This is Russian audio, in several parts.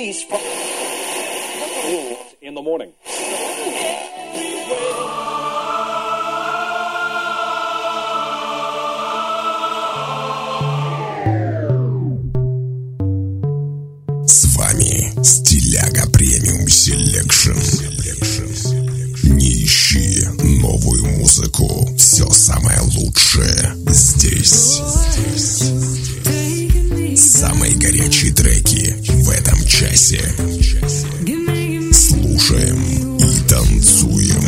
release from in the morning. С вами Стиляга Премиум Селекшн. Не ищи новую музыку. Все самое лучшее здесь. Самые горячие треки в этом часе. Слушаем и танцуем.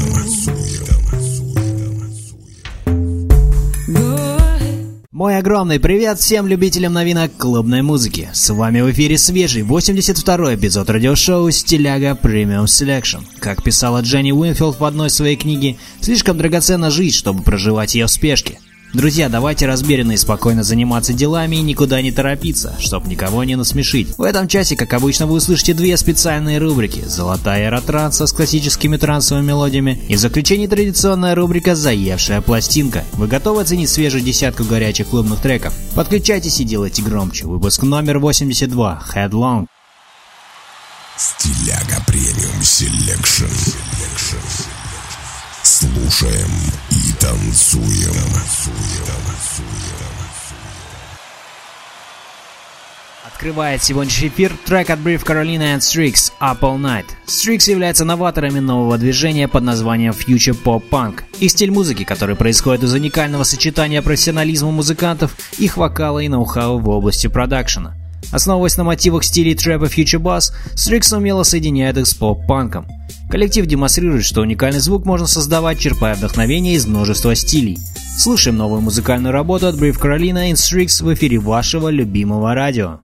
Мой огромный привет всем любителям новинок клубной музыки. С вами в эфире свежий 82-й эпизод радиошоу «Стиляга Премиум Селекшн». Как писала Дженни Уинфилд в одной своей книге, слишком драгоценна жизнь, чтобы проживать ее в спешке. Друзья, давайте размеренно и спокойно заниматься делами и никуда не торопиться, чтобы никого не насмешить. В этом часе, как обычно, вы услышите две специальные рубрики: «Золотая эра транса» с классическими трансовыми мелодиями и в заключении традиционная рубрика «Заевшая пластинка». Вы готовы оценить свежую десятку горячих клубных треков? Подключайтесь и делайте громче. Выпуск номер 82. Headlong. Стиляга Премиум Селекшн. Слушаем и танцуем. Открывает сегодняшний эфир трек от Brief Carolina and Strix «Up All Night». Strix являются новаторами нового движения под названием Future Pop Punk. Их стиль музыки, который происходит из уникального сочетания профессионализма музыкантов, их вокала и ноу-хау в области продакшена. Основываясь на мотивах стилей трэпа Future Bass, Strix умело соединяет их с поп-панком. Коллектив демонстрирует, что уникальный звук можно создавать, черпая вдохновение из множества стилей. Слушаем новую музыкальную работу от Brief Carolina and Strix в эфире вашего любимого радио.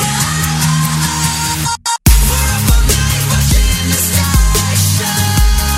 We're up all night watching the sky shine.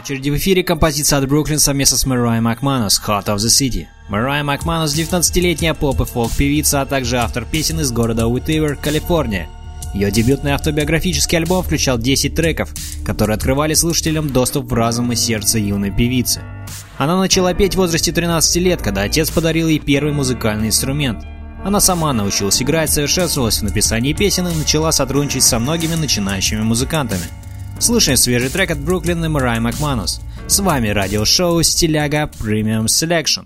очереди в эфире композиция от Brooklyn совместно с Mariah McManus «Heart of the City». Mariah McManus – 19-летняя поп- и фолк-певица, а также автор песен из города Уитивер, Калифорния. Ее дебютный автобиографический альбом включал 10 треков, которые открывали слушателям доступ в разум и сердце юной певицы. Она начала петь в возрасте 13 лет, когда отец подарил ей первый музыкальный инструмент. Она сама научилась играть, совершенствовалась в написании песен и начала сотрудничать со многими начинающими музыкантами. Слушаем свежий трек от Brooklyn и Mariah McManus. С вами радиошоу «Стиляга Premium Selection».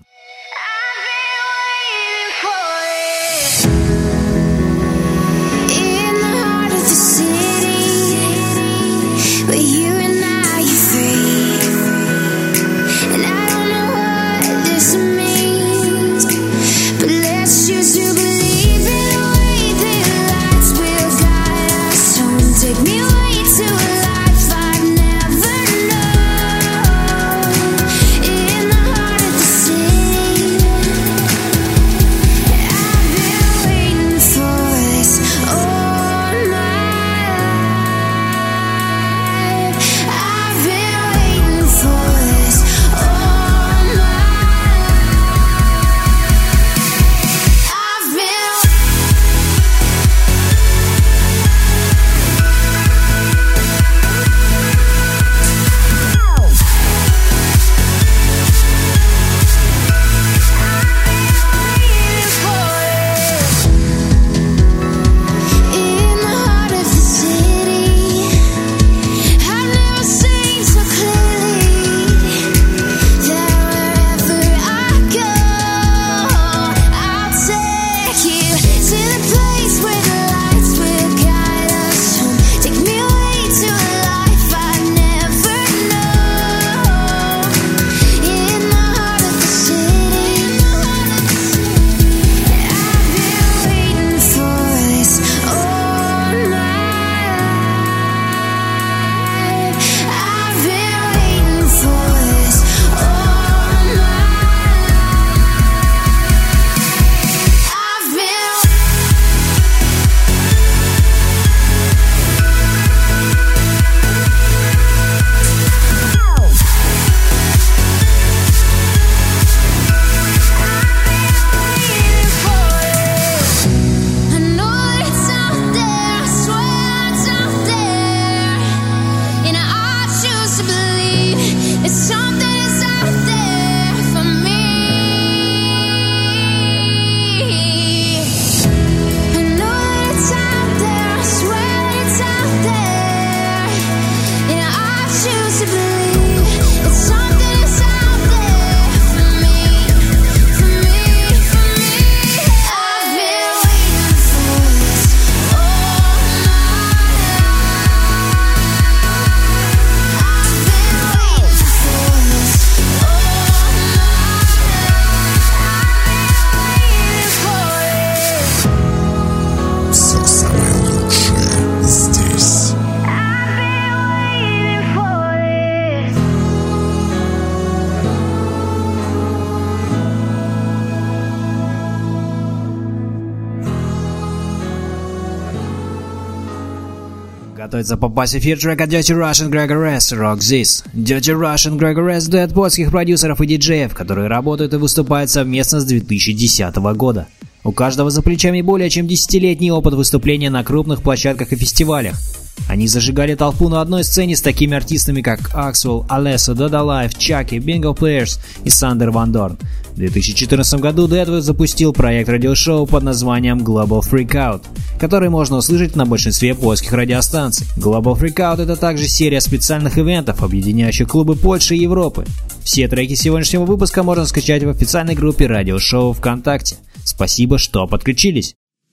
Готовится попасть в эфир трек от Dirty Russian Gregor S. Rock This. Dirty Russian Gregor S. дуэт польских продюсеров и диджеев, которые работают и выступают совместно с 2010 года. У каждого за плечами более чем 10-летний опыт выступления на крупных площадках и фестивалях. Они зажигали толпу на одной сцене с такими артистами, как Axwell, Alesso, Doda Life, Chucky, Bingo Players и Sander Van Dorn. В 2014 году дуэт запустил проект радиошоу под названием Global Freakout, который можно услышать на большинстве польских радиостанций. Global Freakout — это также серия специальных ивентов, объединяющих клубы Польши и Европы. Все треки сегодняшнего выпуска можно скачать в официальной группе радиошоу ВКонтакте. Спасибо, что подключились.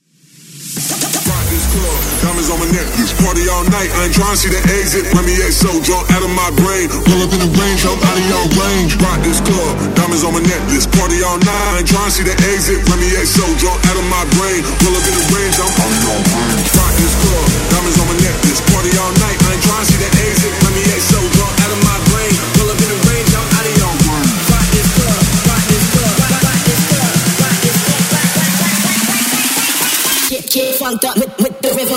Diamonds on my necklace, party all night, I ain't tryna see the exit. Remy so drunk out of my brain, pull up in the range, I'm out of your range. Rock this club, diamonds on my necklace, party all night, I ain't tryna see the exit. Remy so drunk out of my brain, pull up in the range, I'm out of your range. Rock this club, diamonds on my necklace, party all night, I ain't tryna see the exit. Remy so drunk out of my brain, pull up in the range, I'm out of your range. Rock this club, rock this club, rock this club, rock this club. Get funked up with the rhythm.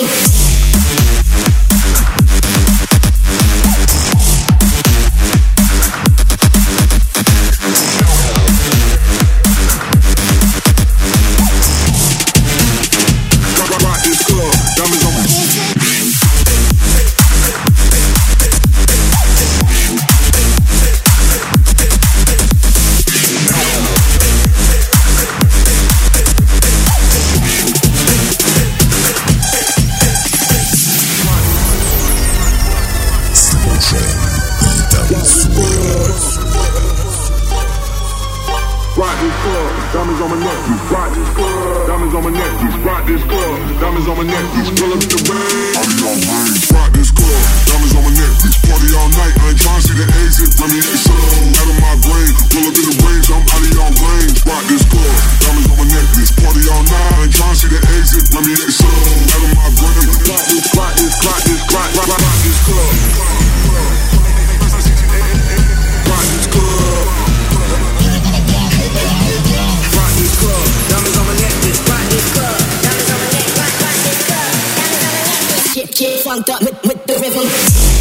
on my necklace, rock this club. Diamonds on my necklace, rock this club. Diamonds on my necklace, pull up in the rain. Party on range, rock this club. Diamonds on my necklace, party all night. I ain't tryna see the exit. Let me get some out of my brain. Pull up in the range, I'm out of your range. Rock this club. Diamonds on my necklace, party all night. I ain't tryna see the exit. Let me get some out of my brain. Rock this, rock this, rock this, rock this club. Rock this club. Rock this club. Diamonds on my necklace. Rock this club. Diamonds on my neck. Rock this club. Diamonds on my necklace. Get funked up with the rhythm.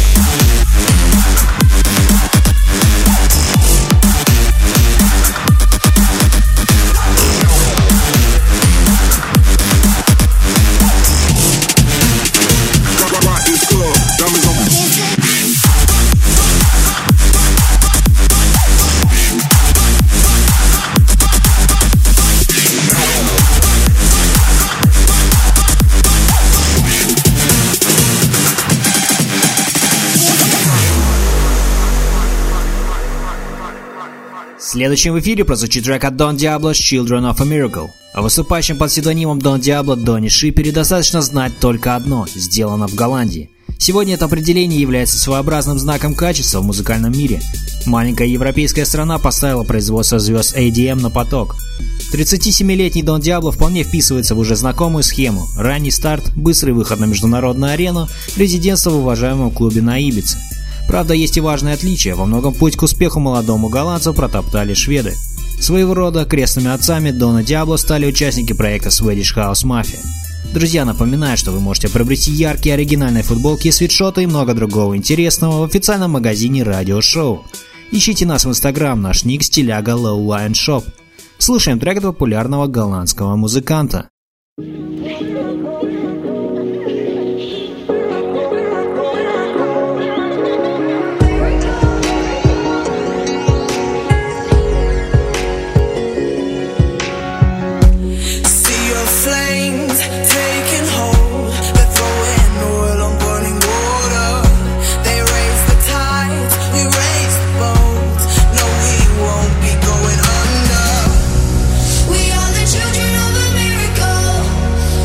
Следующим в эфире прозвучит трек от Don Diablo Children of a Miracle. О выступающем под псевдонимом Don Diablo Донни Шипере достаточно знать только одно – сделано в Голландии. Сегодня это определение является своеобразным знаком качества в музыкальном мире. Маленькая европейская страна поставила производство звезд EDM на поток. 37-летний Don Diablo вполне вписывается в уже знакомую схему – ранний старт, быстрый выход на международную арену, резидентство в уважаемом клубе на Ибице. Правда, есть и важное отличие. Во многом путь к успеху молодому голландцу протоптали шведы. Своего рода крестными отцами Дона Диабло стали участники проекта Swedish House Mafia. Друзья, напоминаю, что вы можете приобрести яркие оригинальные футболки, свитшоты и много другого интересного в официальном магазине Радио Шоу. Ищите нас в Instagram, наш ник стиляга Low Lion Shop. Слушаем трек от популярного голландского музыканта. We are the children of a miracle.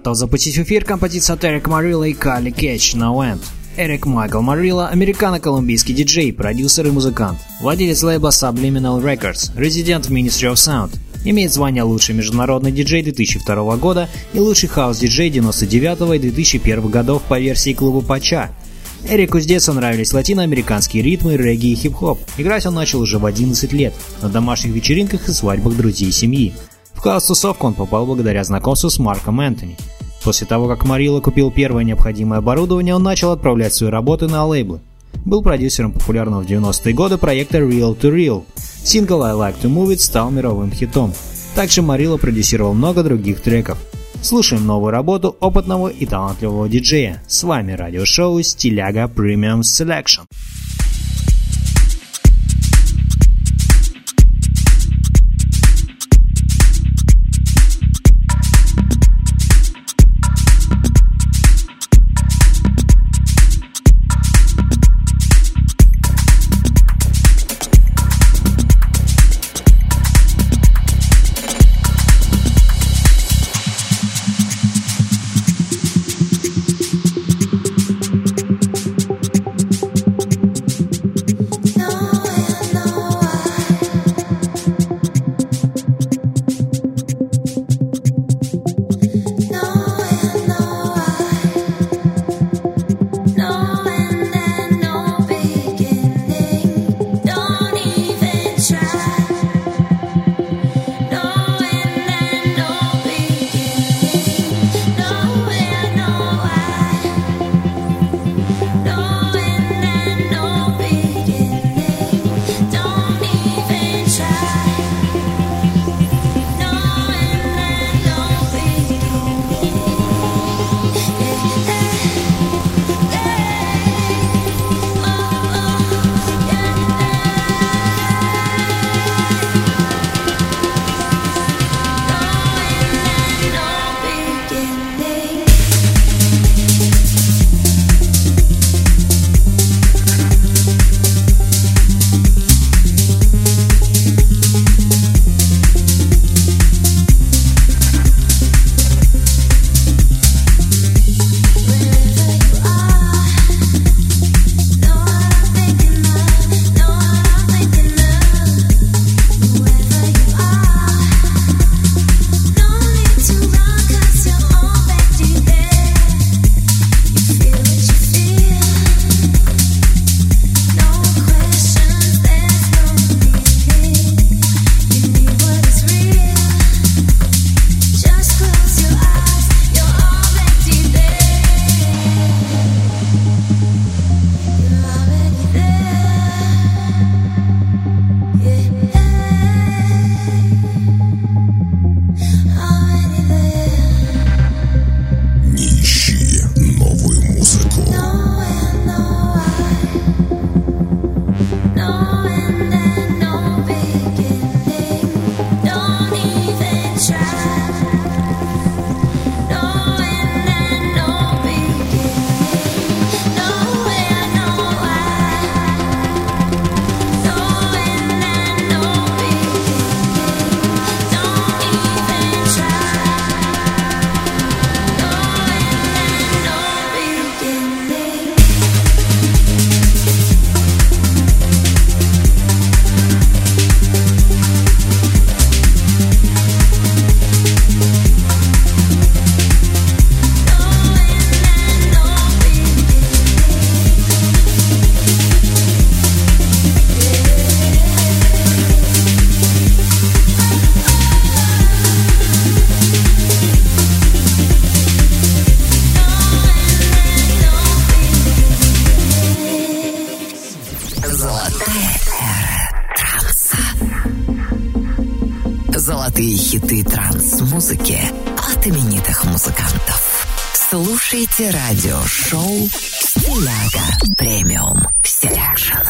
готов запустить в эфир композицию от Эрик Марилла и Кали Кетч «No End». Эрик Майкл Марилла – американо-колумбийский диджей, продюсер и музыкант, владелец лейбла Subliminal Records, резидент в Ministry of Sound, имеет звание «Лучший международный диджей» 2002 года и «Лучший хаус-диджей» 1999 и 2001 годов по версии клуба Пача. Эрику с детства нравились латиноамериканские ритмы, регги и хип-хоп. Играть он начал уже в 11 лет, на домашних вечеринках и свадьбах друзей и семьи. В хаус-тусовку он попал благодаря знакомству с Марком Энтони. После того, как Марилла купил первое необходимое оборудование, он начал отправлять свои работы на лейблы. Был продюсером популярного в 90-е годы проекта Real to Real. Сингл I Like to Move It стал мировым хитом. Также Марилла продюсировал много других треков. Слушаем новую работу опытного и талантливого диджея. С вами радиошоу Стиляга Premium Selection. Золотые хиты транс-музыки от именитых музыкантов. Слушайте радиошоу «Стиляга Премиум Селекшн».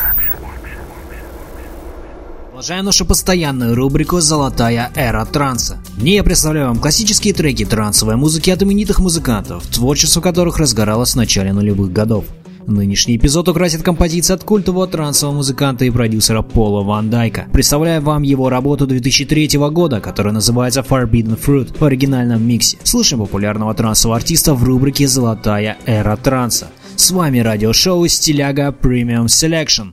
Продолжаем нашу постоянную рубрику «Золотая эра транса». В ней я представляю вам классические треки трансовой музыки от именитых музыкантов, творчество которых разгоралось в начале нулевых годов. Нынешний эпизод украсит композиция от культового трансового музыканта и продюсера Пола Ван Дайка. Представляю вам его работу 2003 года, которая называется Forbidden Fruit в оригинальном миксе. Слышим популярного трансового артиста в рубрике «Золотая эра транса». С вами радиошоу «Стиляга Premium Selection».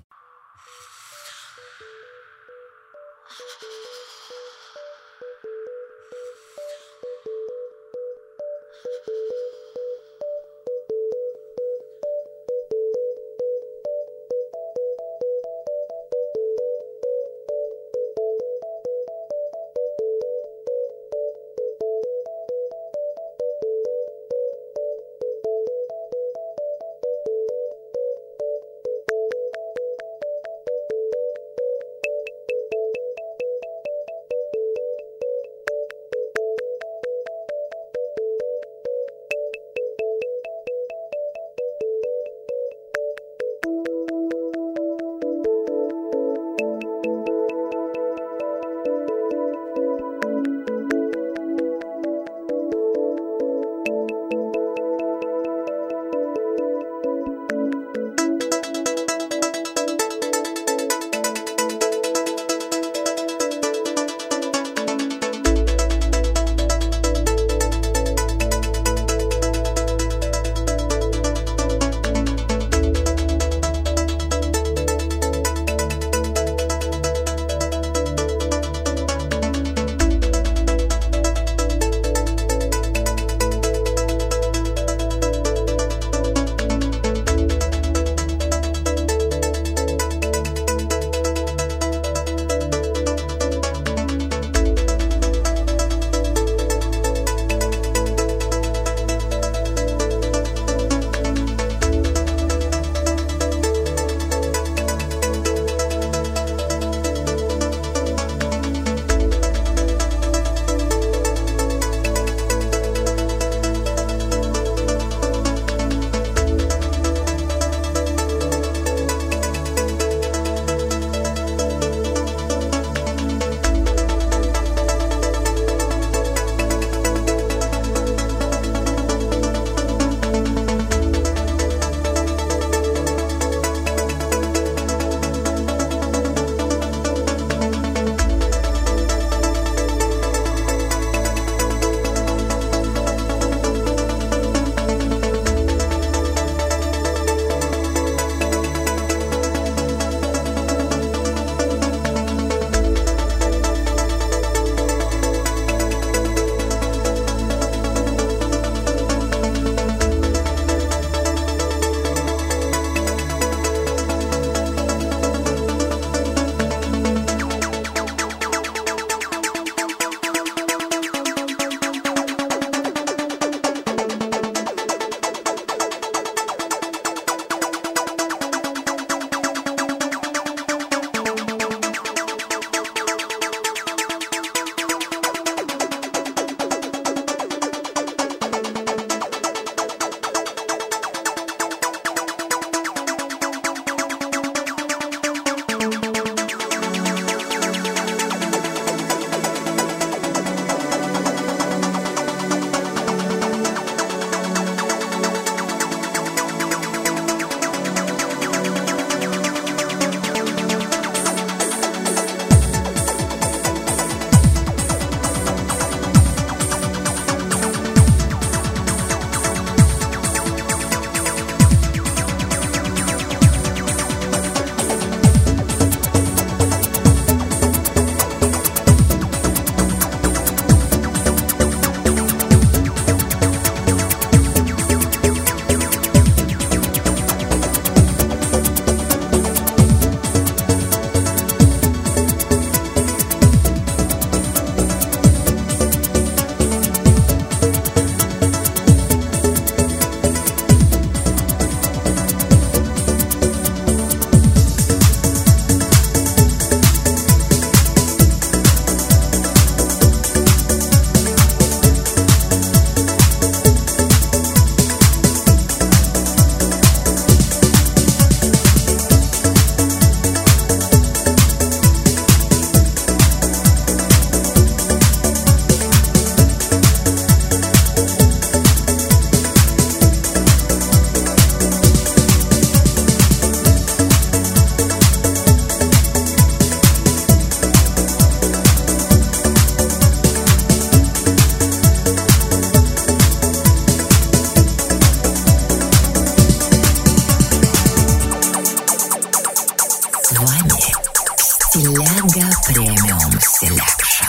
Стиляга премиум селекшн.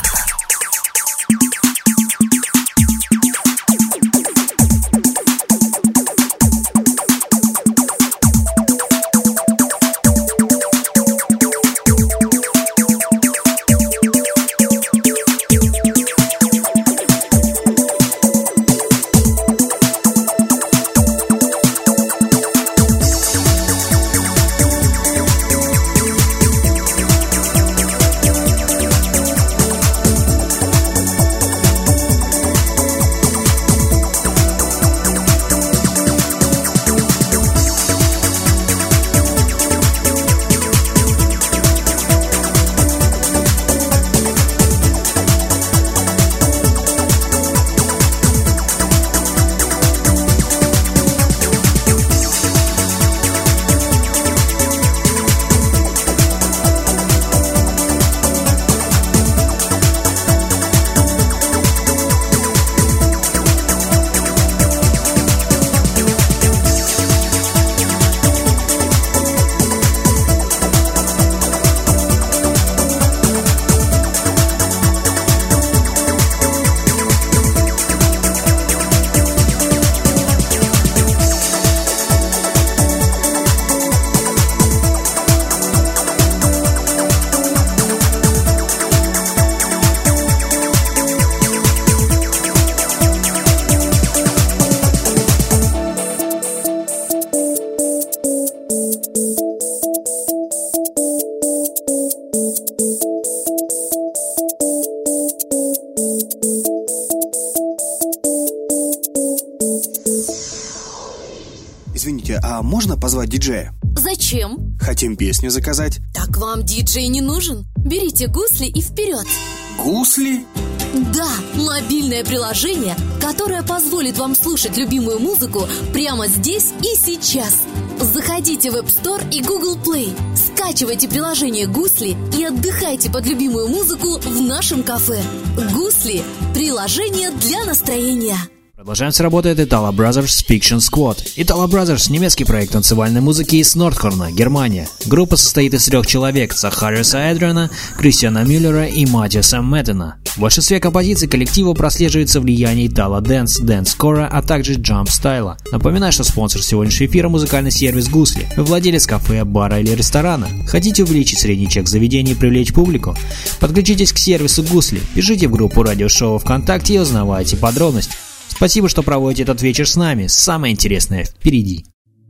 Извините, а можно позвать диджея? Зачем? Хотим песню заказать. Так вам диджей не нужен. Берите гусли и вперед. Гусли? Да, мобильное приложение, которое позволит вам слушать любимую музыку прямо здесь и сейчас. Заходите в App Store и Google Play, скачивайте приложение «Гусли» и отдыхайте под любимую музыку в нашем кафе. «Гусли» – приложение для настроения. Продолжаем с работы от Italo Brothers Fiction Squad. Italo Brothers – немецкий проект танцевальной музыки из Нордхорна, Германия. Группа состоит из 3 человек – Захариуса Эдриана, Кристиана Мюллера и Матиаса Мэттена. В большинстве композиций коллектива прослеживается влияние Italo Dance, Dance-Core, а также Jump-стайла. Напоминаю, что спонсор сегодняшнего эфира – музыкальный сервис «Гусли». Вы владелец кафе, бара или ресторана. Хотите увеличить средний чек заведения и привлечь публику? Подключитесь к сервису «Гусли», пишите в группу радиошоу ВКонтакте и узнавайте подробности. Спасибо, что проводите этот вечер с нами. Самое интересное впереди.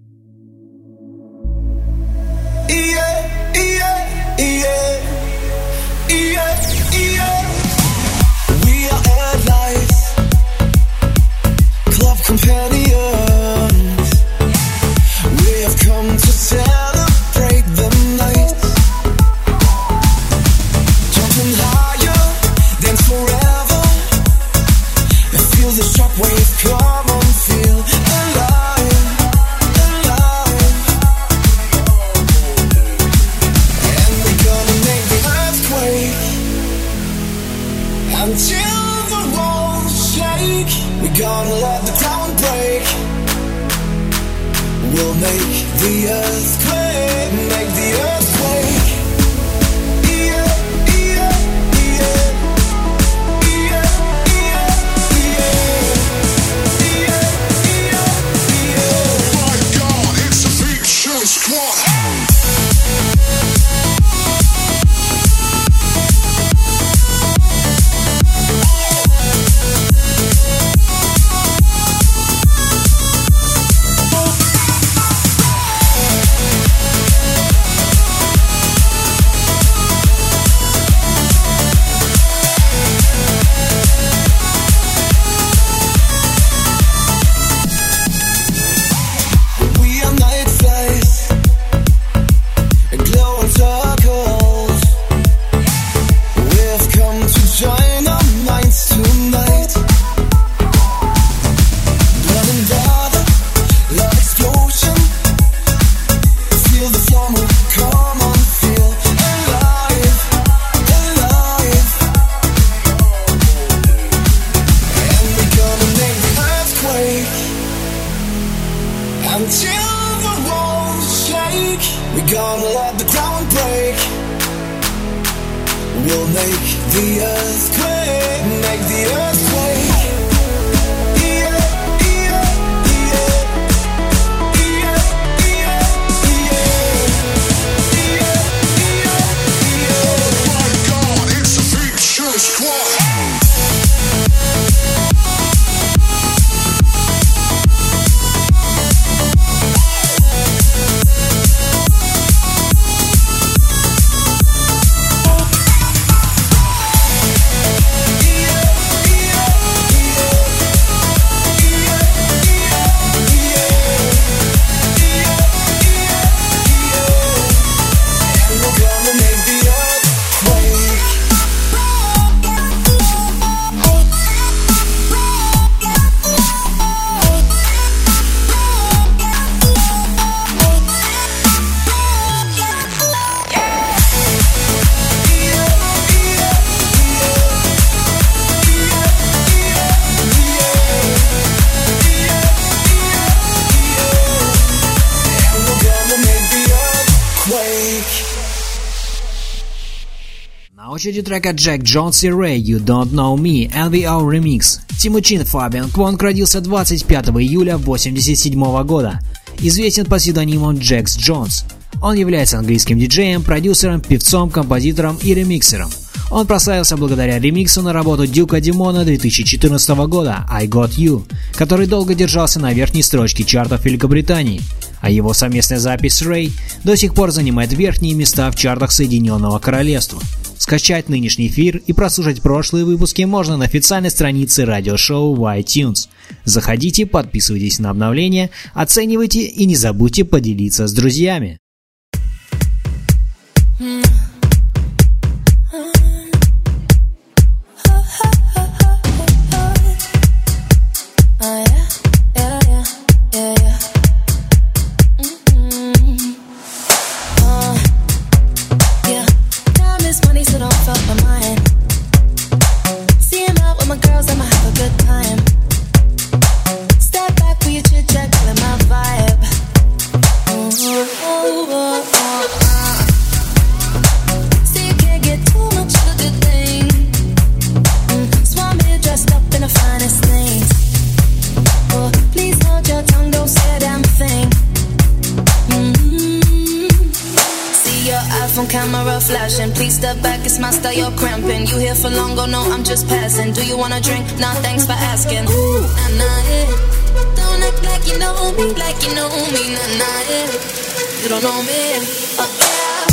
Come on, feel alive, alive. And we're gonna make the earthquake until the walls shake. We're gonna let the ground break. We'll make the earthquake, make the earthquake. We'll make the earthquake, make the earthquake. На очереди трека Jack Jones и Ray You Don't Know Me LVO Remix. Тимучин Фабиан Квонг родился 25 июля 1987 года. Известен под псевдонимом Jax Jones. Он является английским диджеем, продюсером, певцом, композитором и ремиксером. Он прославился благодаря ремиксу на работу Дюка Димона 2014 года I Got You, который долго держался на верхней строчке чартов Великобритании, а его совместная запись с Ray до сих пор занимает верхние места в чартах Соединенного Королевства. Скачать нынешний эфир и прослушать прошлые выпуски можно на официальной странице радиошоу в iTunes. Заходите, подписывайтесь на обновления, оценивайте и не забудьте поделиться с друзьями. Camera flashing, please step back, it's my style, you're cramping. You here for long, go no, I'm just passing. Do you wanna drink? Nah, thanks for asking. Ooh, nah, nah, yeah. Don't act like you know me, like you know me, nah, nah, yeah. You don't know me, yeah.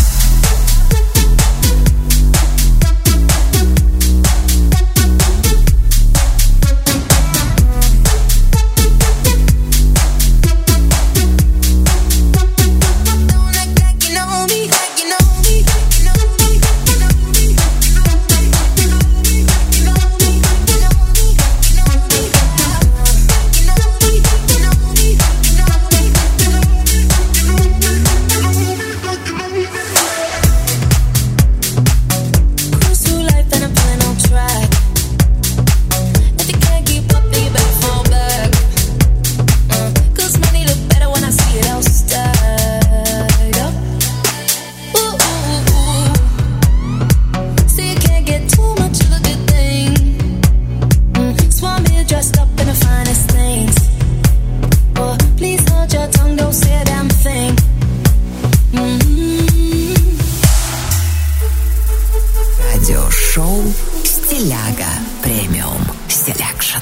Радиошоу «Стиляга Премиум Селекшн».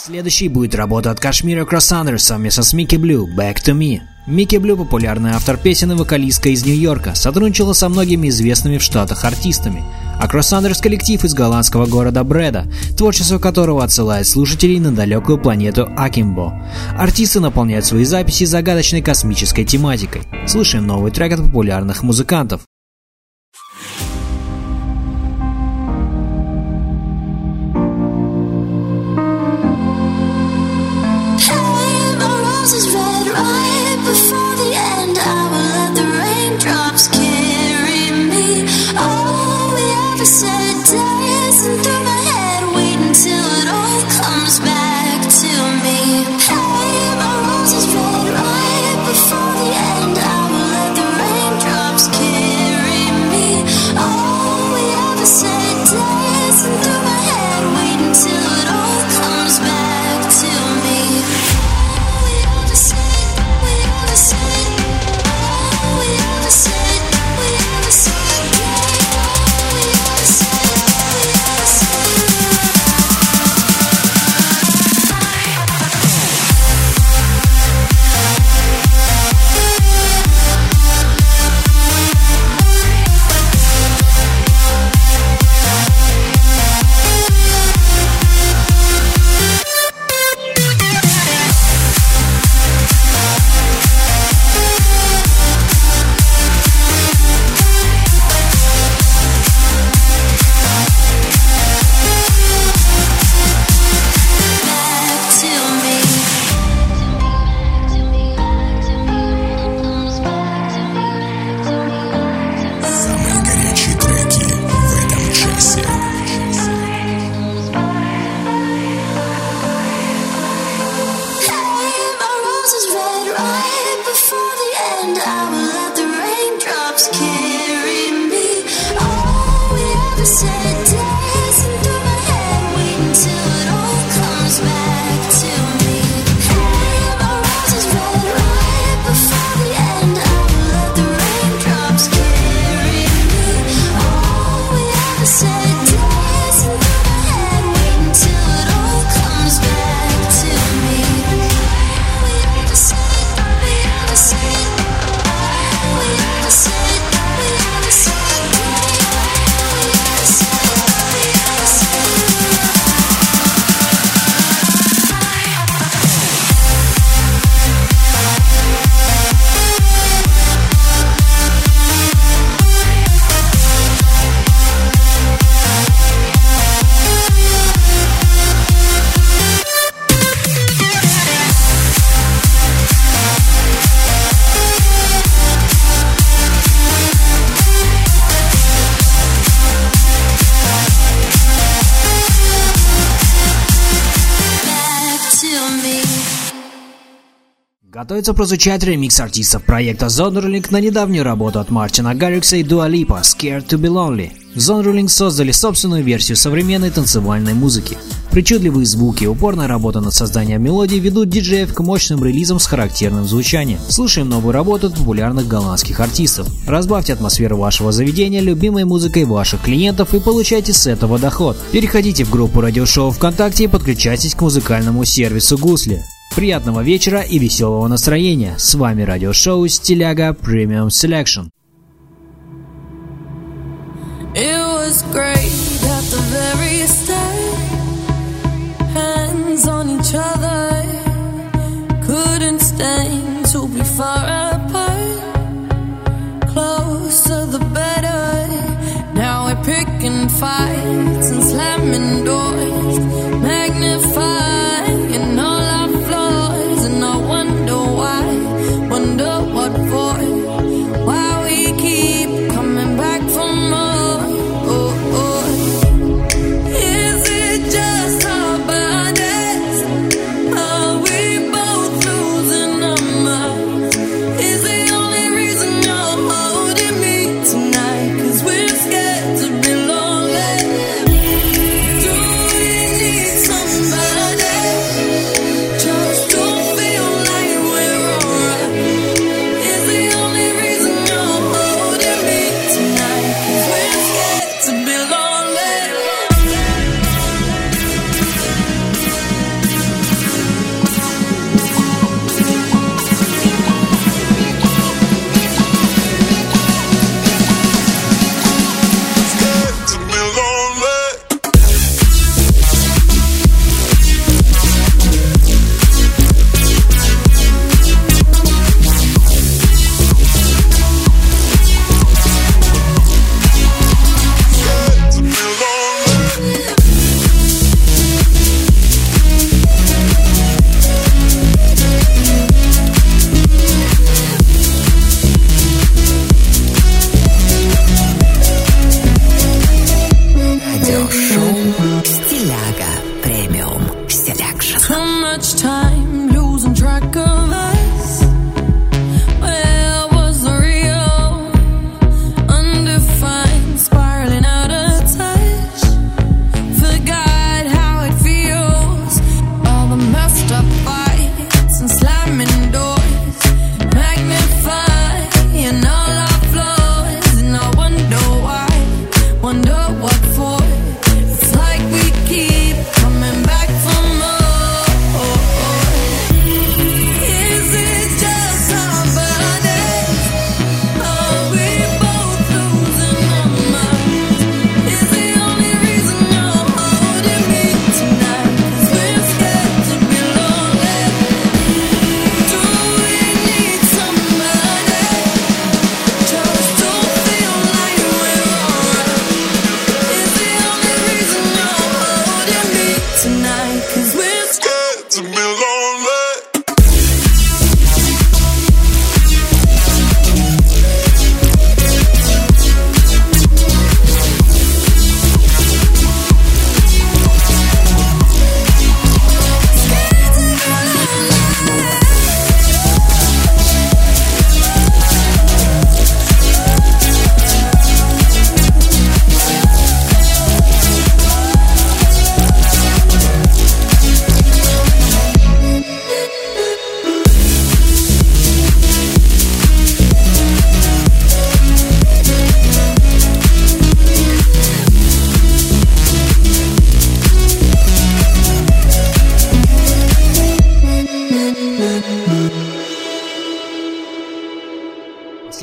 Следующей будет работа от Кашмира Кроссандер совместно с Mickey Blue «Back to Me». Mickey Blue, популярный автор песен и вокалистка из Нью-Йорка, сотрудничала со многими известными в Штатах артистами. А Кроссандерс — коллектив из голландского города Бреда, творчество которого отсылает слушателей на далекую планету Акимбо. Артисты наполняют свои записи загадочной космической тематикой. Слушаем новый трек от популярных музыкантов. Готовится прозвучать ремикс артистов проекта Zonderling на недавнюю работу от Мартина Гаррикса и Dua Lipa «Scared to be Lonely». Zonderling создали собственную версию современной танцевальной музыки. Причудливые звуки и упорная работа над созданием мелодий ведут диджеев к мощным релизам с характерным звучанием. Слушаем новую работу от популярных голландских артистов. Разбавьте атмосферу вашего заведения любимой музыкой ваших клиентов и получайте с этого доход. Переходите в группу радиошоу ВКонтакте и подключайтесь к музыкальному сервису Гусли. Приятного вечера и веселого настроения. С вами радиошоу Стиляга Premium Selection. It was great at the very start. Hands on each other. Couldn't stand to be far apart. Closer the better. Now we're picking fights and slamming doors. Magnifying all our flaws. And I wonder why. Wonder what for. Why we keep coming back for more. Tonight, 'cause we're scared to be lonely. Do we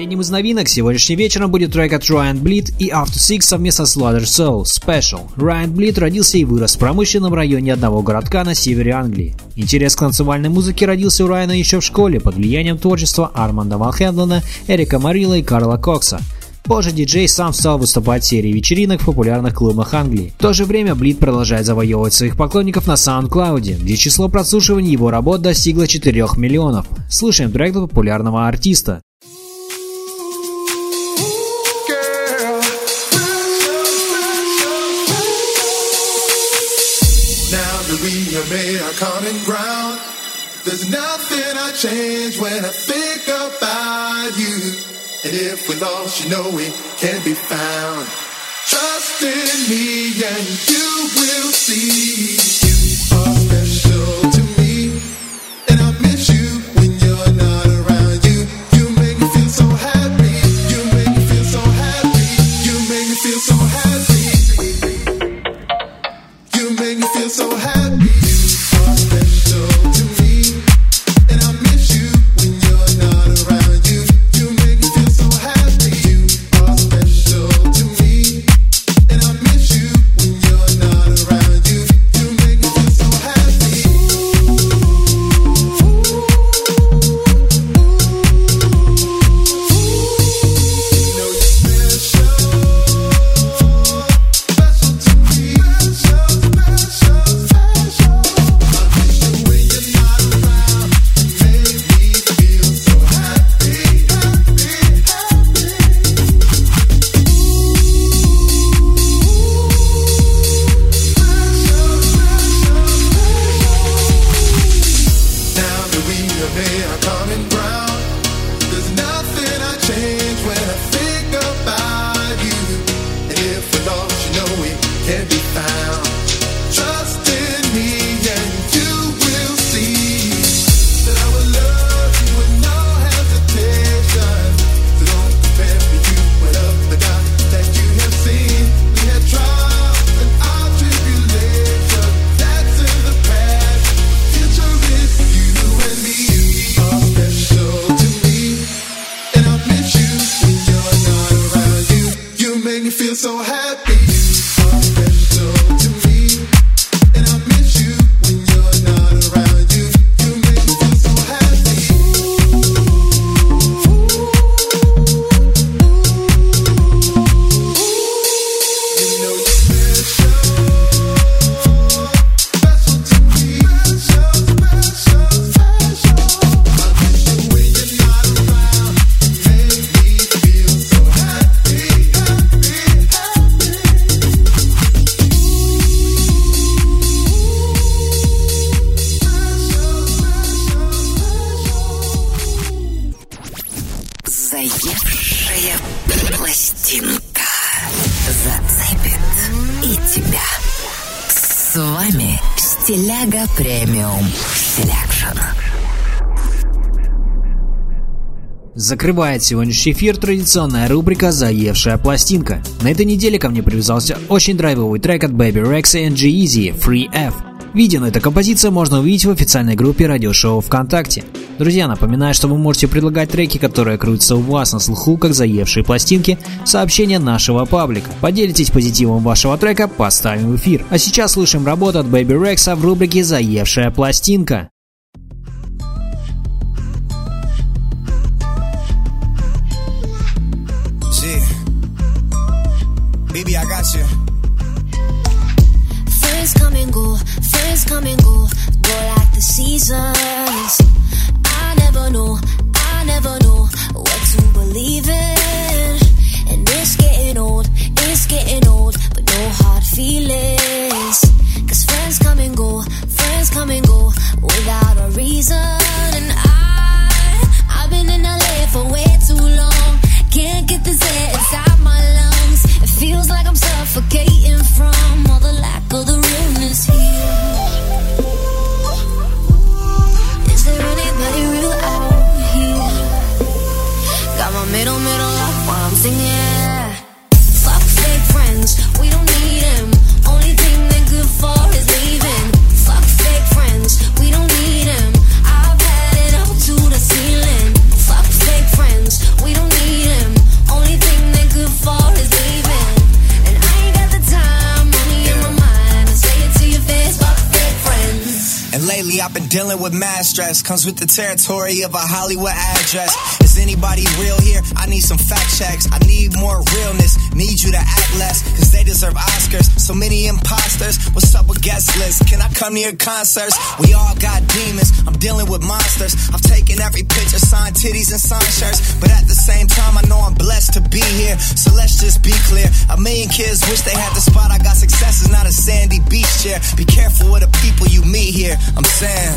Последним из новинок сегодняшним вечером будет трек от Ryan Bleed и After Six совместно с Slaughter Soul Special. Ryan Bleed родился и вырос в промышленном районе одного городка на севере Англии. Интерес к танцевальной музыке родился у Райана еще в школе под влиянием творчества Арманда Ван Хелдена, Эрика Марилла и Карла Кокса. Позже диджей сам стал выступать в серии вечеринок в популярных клубах Англии. В то же время Bleed продолжает завоевывать своих поклонников на SoundCloud, где число прослушиваний его работ достигло 4 миллионов. Слушаем трек популярного артиста. We have made our common ground. There's nothing I change when I think about you. And if we lost, you know we can't be found. Trust in me and you will see. You are special to me, and I miss you when you're not around. You make me feel so happy. You make me feel so happy. You make me feel so happy. You make me feel so happy. Заевшая пластинка зацепит и тебя. С вами Стиляга Премиум Селекшн. Закрывает сегодняшний эфир традиционная рубрика «Заевшая пластинка». На этой неделе ко мне привязался очень драйвовый трек от Baby Rexha и G-Eazy «Free F». Видео на этой композиции можно увидеть в официальной группе радиошоу ВКонтакте. Друзья, напоминаю, что вы можете предлагать треки, которые крутятся у вас на слуху, как заевшие пластинки, в сообщения нашего паблика. Поделитесь позитивом вашего трека, поставим в эфир. А сейчас слушаем работу от Baby Rexha в рубрике «Заевшая пластинка». Baby, I got you. Friends come and go go like the seasons. I never know what to believe in. And it's getting old, but no hard feelings. Cause friends come and go without a reason. And I've been in LA for way too long. Can't get this air inside my lungs. It feels like I'm suffocating from all the lack of the realness here. Is there anybody real out here? Got my middle up while I'm singing. Fuck fake friends, we don't need them. Only thing they're good for is leaving. Fuck fake friends, we don't need them. I've had it up to the ceiling. Fuck fake friends, we don't need I've been dealing with mad stress. Comes with the territory of a Hollywood address. Is anybody real here? I need some fact checks. I need more realness. Need you to act less, cause they deserve Oscars. So many imposters. What's up with guest lists? Can I come to your concerts? We all got demons. I'm dealing with monsters. I've taken every picture, signed titties and signed shirts. But at the same time, I know I'm blessed to be here. So let's just be clear. A million kids wish they had the spot. I got success is not a sandy beach chair. Be careful with the people you meet here. I'm saying,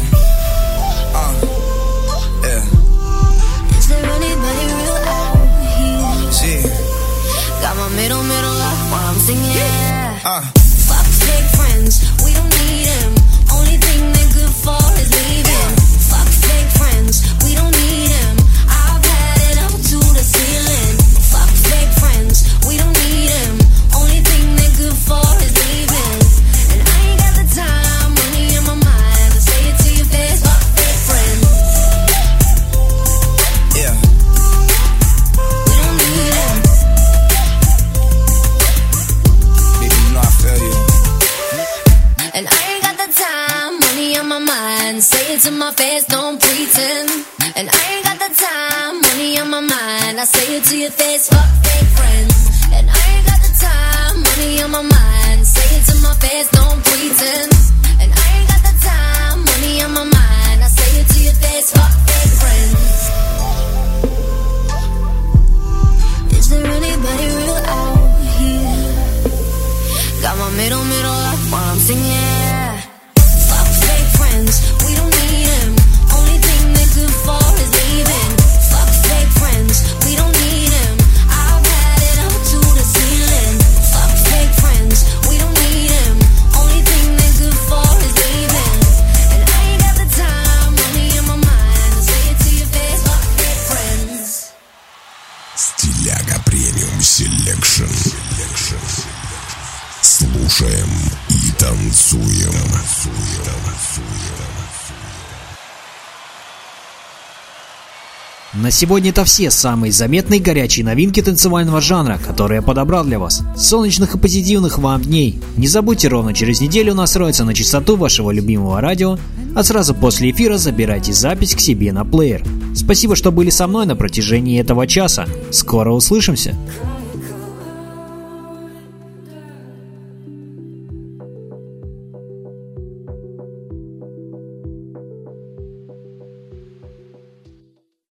yeah. Is there anybody real out here? Got my middle up while I'm singing. Fuck fake friends, we don't need them. Only thing they're good for is leaving. Fuck fake friends, we don't need them. I've had it up to the ceiling. Fuck fake friends, we don't need them. Only thing they're good for is leaving. And I ain't got the time, money in my mind to say it to your face. Fuck fake friends. Yeah. We don't need them. Baby, you know I feel you. And I ain't got the time, money on my mind. Say it to my face, don't pretend. And I ain't got the time, money on my mind. I say it to your face, fuck fake friends. And I ain't got the time, money on my mind. Say it to my face, don't pretend. And I ain't got the time, money on my mind. I say it to your face, fuck fake friends. Is there anybody real out here? Got my middle up while I'm singing. Fuck fake friends, we don't need them. Only thing they're good for is leaving. Fuck fake friends, we don't need them. I've had it up to the ceiling. Fuck fake friends, we don't need them. Only thing they're good for is leaving. And I ain't got the time, money in my mind to say it to your face. Fuck fake friends. Стиляга премиум селекшн. Слушаем и танцуем. На сегодня это все самые заметные горячие новинки танцевального жанра, которые я подобрал для вас. Солнечных и позитивных вам дней. Не забудьте, ровно через неделю настроиться на частоту вашего любимого радио, а сразу после эфира забирайте запись к себе на плеер. Спасибо, что были со мной на протяжении этого часа. Скоро услышимся.